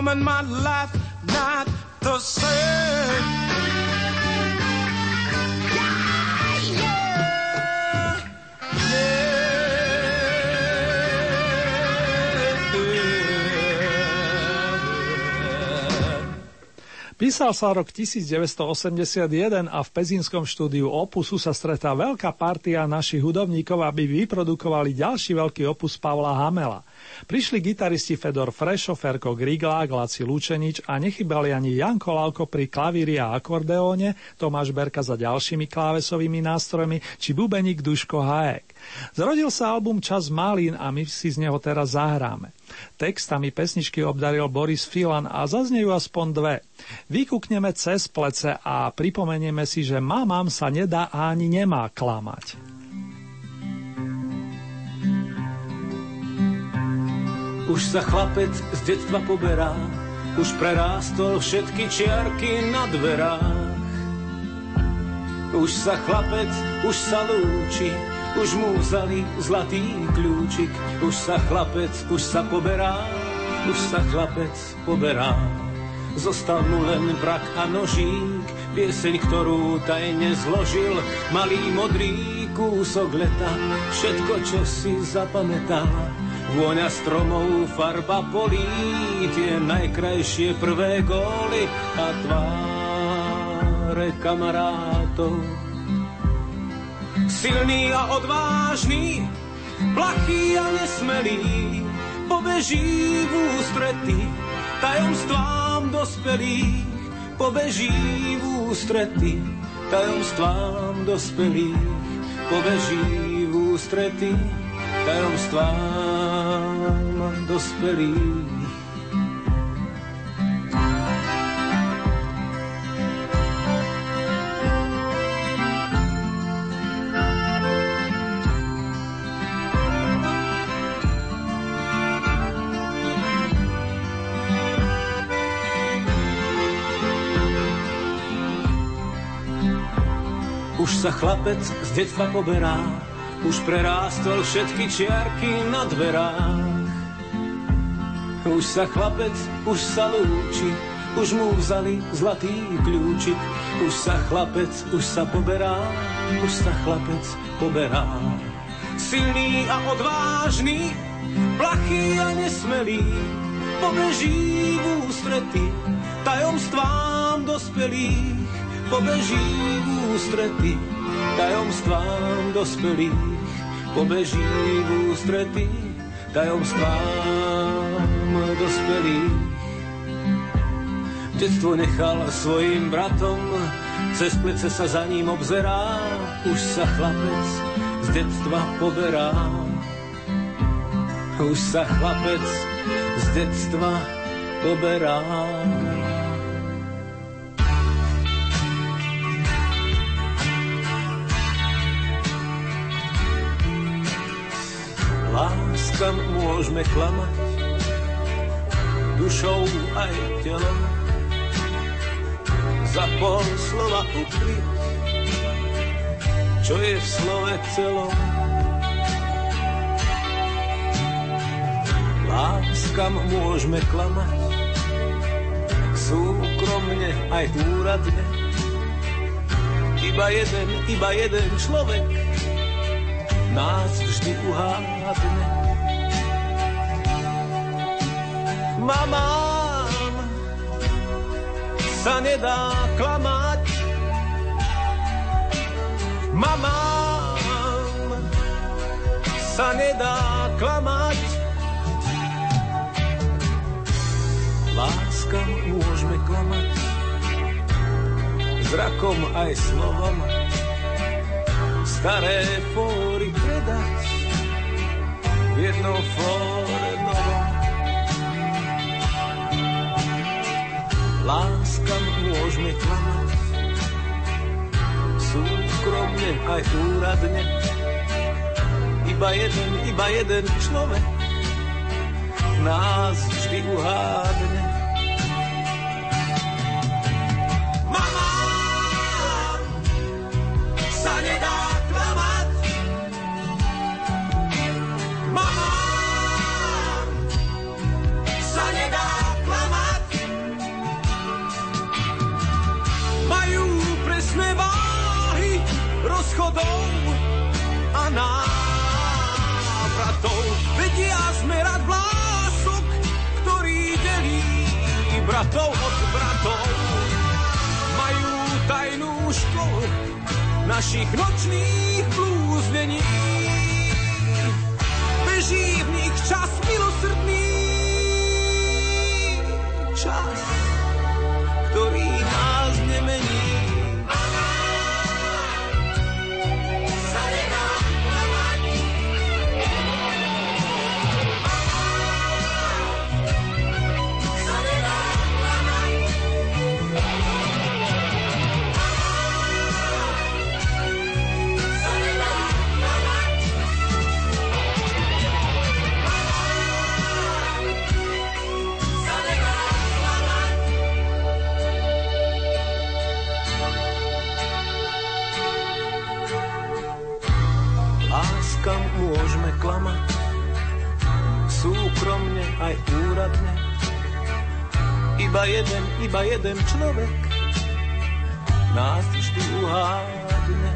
woman, my life not the same. Písal sa rok devätnásťstoosemdesiatjeden a v pezínskom štúdiu Opusu sa stretá veľká partia našich hudobníkov, aby vyprodukovali ďalší veľký opus Pavla Hamela. Prišli gitaristi Fedor Frešo, Ferko Griglák, Laci Lučenič a nechybali ani Janko Lalko pri klavíri a akordeóne, Tomáš Berka za ďalšími klávesovými nástrojmi či bubeník Duško Hajek. Zrodil sa album Čas malín a my si z neho teraz zahráme. Textami pesničky obdaril Boris Filan a zaznejú aspoň dve. Vykúkneme cez plece a pripomenieme si, že mamám sa nedá a ani nemá klamať. Už sa chlapec z detstva poberá, už prerástol všetky čiarky na dverách. Už sa chlapec, už sa lúči, už mu vzali zlatý kľúčik. Už sa chlapec, už sa poberá, už sa chlapec poberá. Zostal mu len brak a nožík, pieseň, ktorú tajne zložil, malý modrý kúsok leta, všetko, čo si zapamätal. Vôňa stromov, farba polí, tie najkrajšie prvé góly a tváre kamarátov. Silný a odvážny, plachý a nesmelý, pobeží v ústrety tajomstvám dospelých, pobeží v ústrety tajomstvám dospelých, pobeží v ústrety tajomstvám dospelých. Už sa chlapec z detstva poberá, už prerástol všetky čiarky na dverách. Už sa chlapec, už sa lúči, už mu vzali zlatý kľúčik. Už sa chlapec, už sa poberá, už sa chlapec poberá. Silný a odvážny, plachý a nesmelý, pobeží v ústrety tajomstvám dospelých, pobeží v ústrety tajomstvám dospelých, pobeží v ústrety tajomstvám dospelých. Detstvo nechal svojim bratom, cez plece sa za ním obzerá, už sa chlapec z detstva poberá. Už sa chlapec z detstva poberá. Láskam môžeme klamať, dušou aj telom, za pol slova ukryť, čo je v slove celom. Láskam môžeme klamať, súkromne aj úradne, iba jeden, iba jeden človek nás vždy uhádne. Mamám sa nedá klamať, mamám sa nedá klamať. Láskam môžeme klamať, zrakom aj slovom, staré fóry predať v jednom fóre novom. Láskam môžeme klamať, súkromne aj úradne, iba jeden, iba jeden človek nás vždy uhádne. Mamám sa nedá klamať, mamám sa nedá klamať. rozchodov a návratov. Vedia zmerať vlások, ktorý delí bratov od bratov. Majú tajnú školu našich nočných blúznení. Beží v nich čas milosrdný, čas, ktorý nás nemení. Kam môžeme klamať, súkromne aj úradne. Iba jeden, iba jeden človek nás vždy uhádne.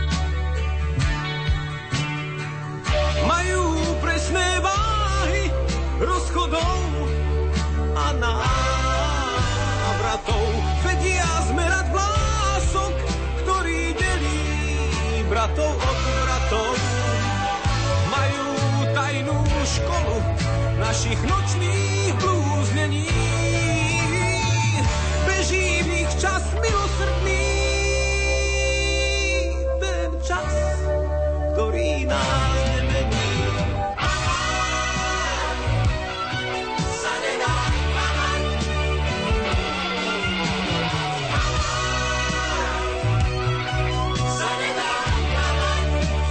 Majú presné váhy rozchodov a návratov. Vedia zmerať vlások, ktorý delí bratov od bratov. Tajnú školu našich nočných blúznení. Beží v nich čas milosrdný, ten čas, ktorý nás nemení. Sa nedá klamať. Sa nedá klamať.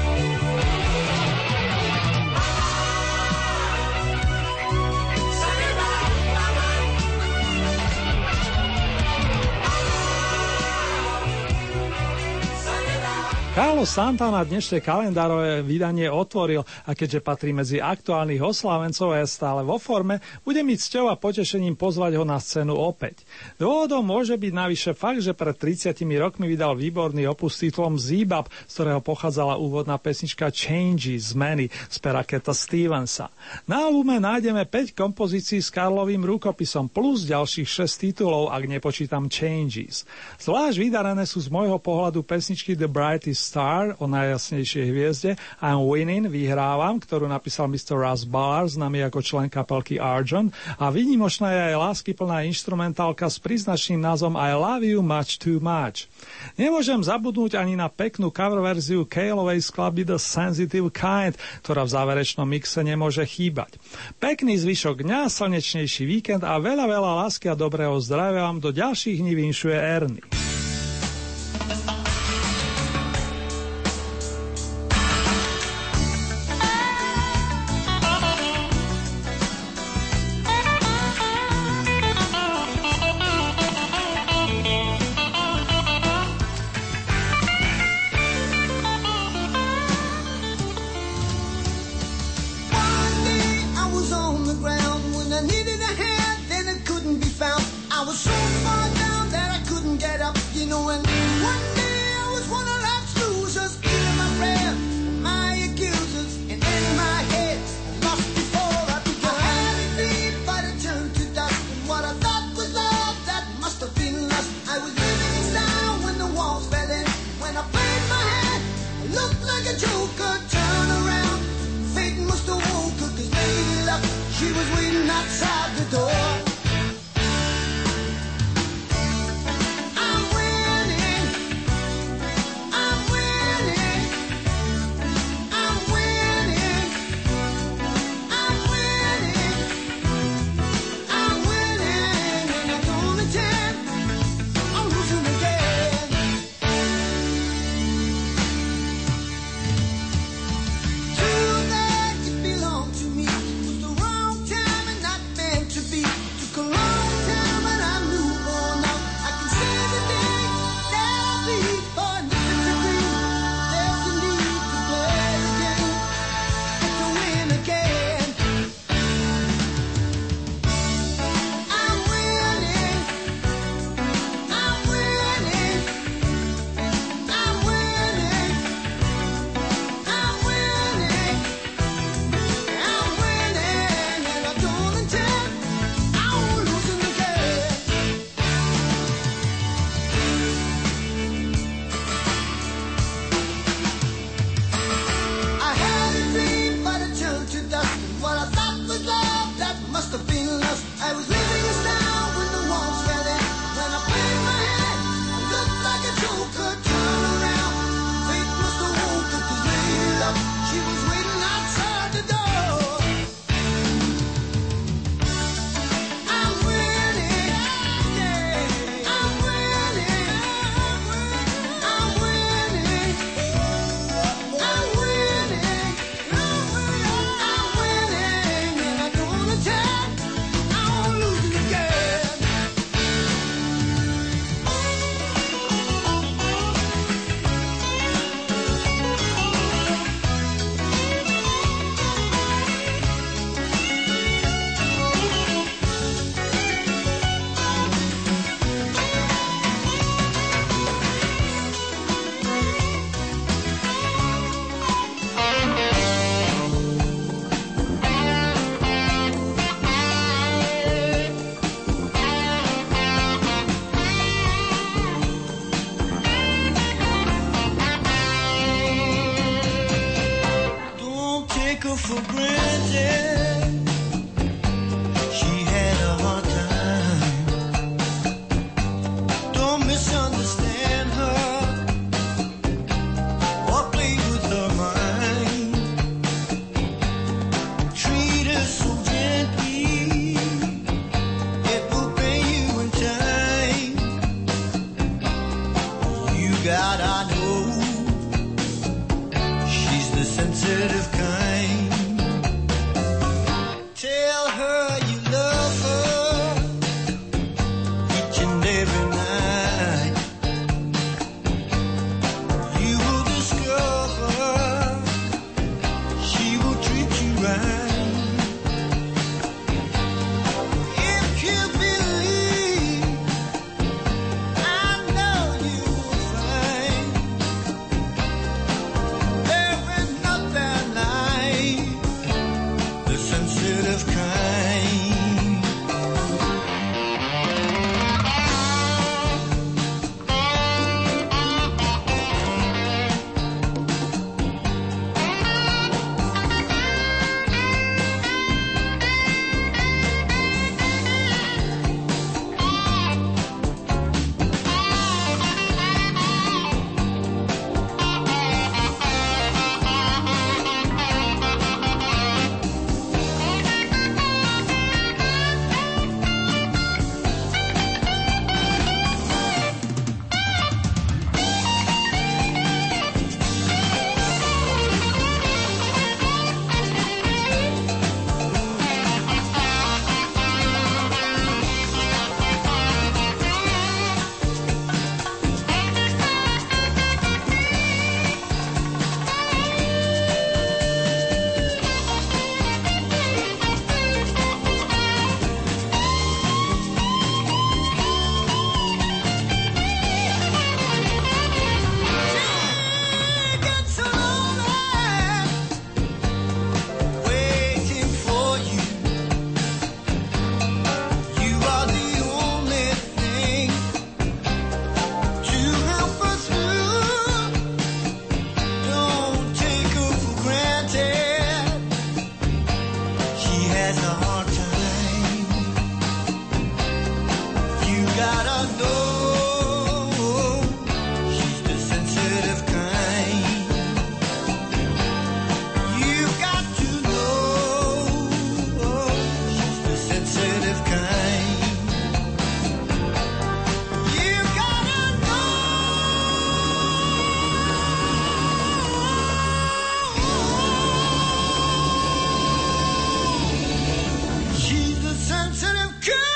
Carlos Santana dnešné kalendárové vydanie otvoril a keďže patrí medzi aktuálnych oslávencov a je stále vo forme, bude mi cťou a potešením pozvať ho na scénu opäť. Dôvodom môže byť navyše fakt, že pred tridsiatimi rokmi vydal výborný opus s titulom Zebub, z ktorého pochádzala úvodná pesnička Changes, Zmeny z pera Cata Stevensa. Na albume nájdeme päť kompozícií s Karlovým rukopisom plus ďalších šesť titulov, ak nepočítam Changes. Zvlášť vydarené sú z môjho pohľadu pesničky The Brightest Star o najjasnejšej hviezde, I'm Winning, vyhrávam, ktorú napísal mister Russ Ballard, známy ako člen kapelky Argent, a výnimočná je aj láskyplná inštrumentálka s príznačným názvom I Love You Much Too Much. Nemôžem zabudnúť ani na peknú cover verziu Caleovej skladby The Sensitive Kind, ktorá v záverečnom mixe nemôže chýbať. Pekný zvyšok dňa, slnečnejší víkend a veľa, veľa lásky a dobrého zdravia vám do ďalších dní vinšuje Ernie. Get up. sensitive kind.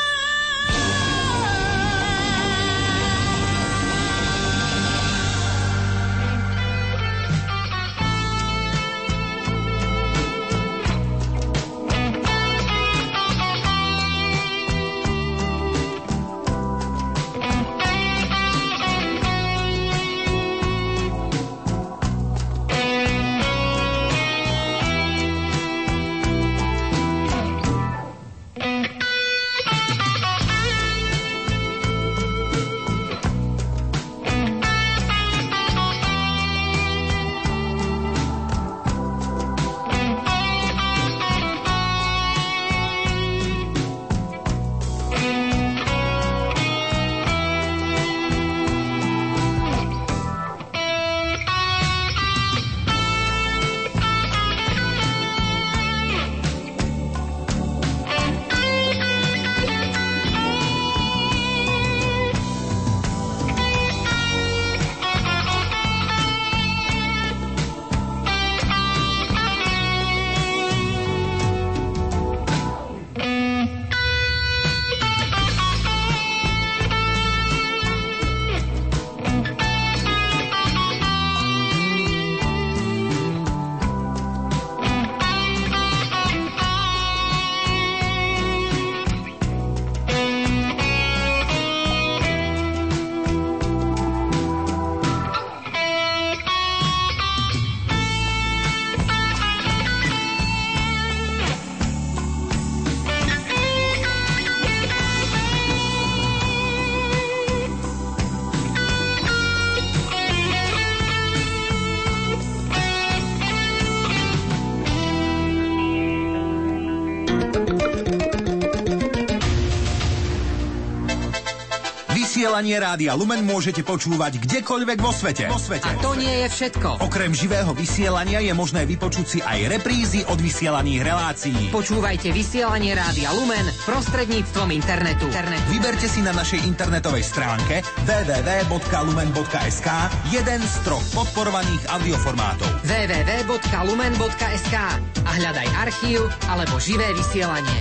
Vysielanie Rádia Lumen môžete počúvať kdekoľvek vo svete. Vo svete. A to nie je všetko. Okrem živého vysielania je možné vypočuť si aj reprízy od vysielaných relácií. Počúvajte vysielanie Rádia Lumen prostredníctvom internetu. internetu. Vyberte si na našej internetovej stránke w w w bodka lumen bodka es ka jeden z troch podporovaných audioformátov. w w w bodka lumen bodka es ka a hľadaj archív alebo živé vysielanie.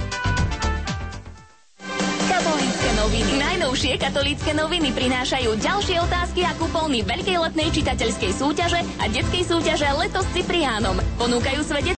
Katolícke noviny. Najnovšie katolícke noviny prinášajú ďalšie otázky a kupóny veľkej letnej čitateľskej súťaže a detskej súťaže Leto s Cipriánom. Ponúkajú svete